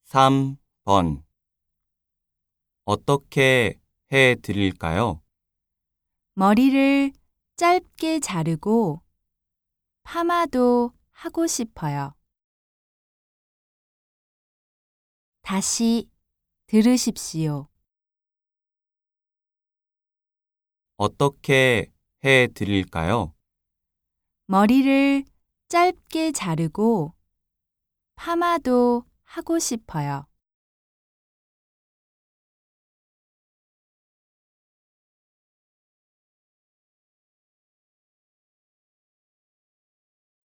3번 어떻게 해 드릴까요? 머리를 짧게 자르고 파마도 하고 싶어요. 다시 들으십시오. 어떻게 해 드릴까요? 머리를 짧게 자르고 파마도 하고 싶어요.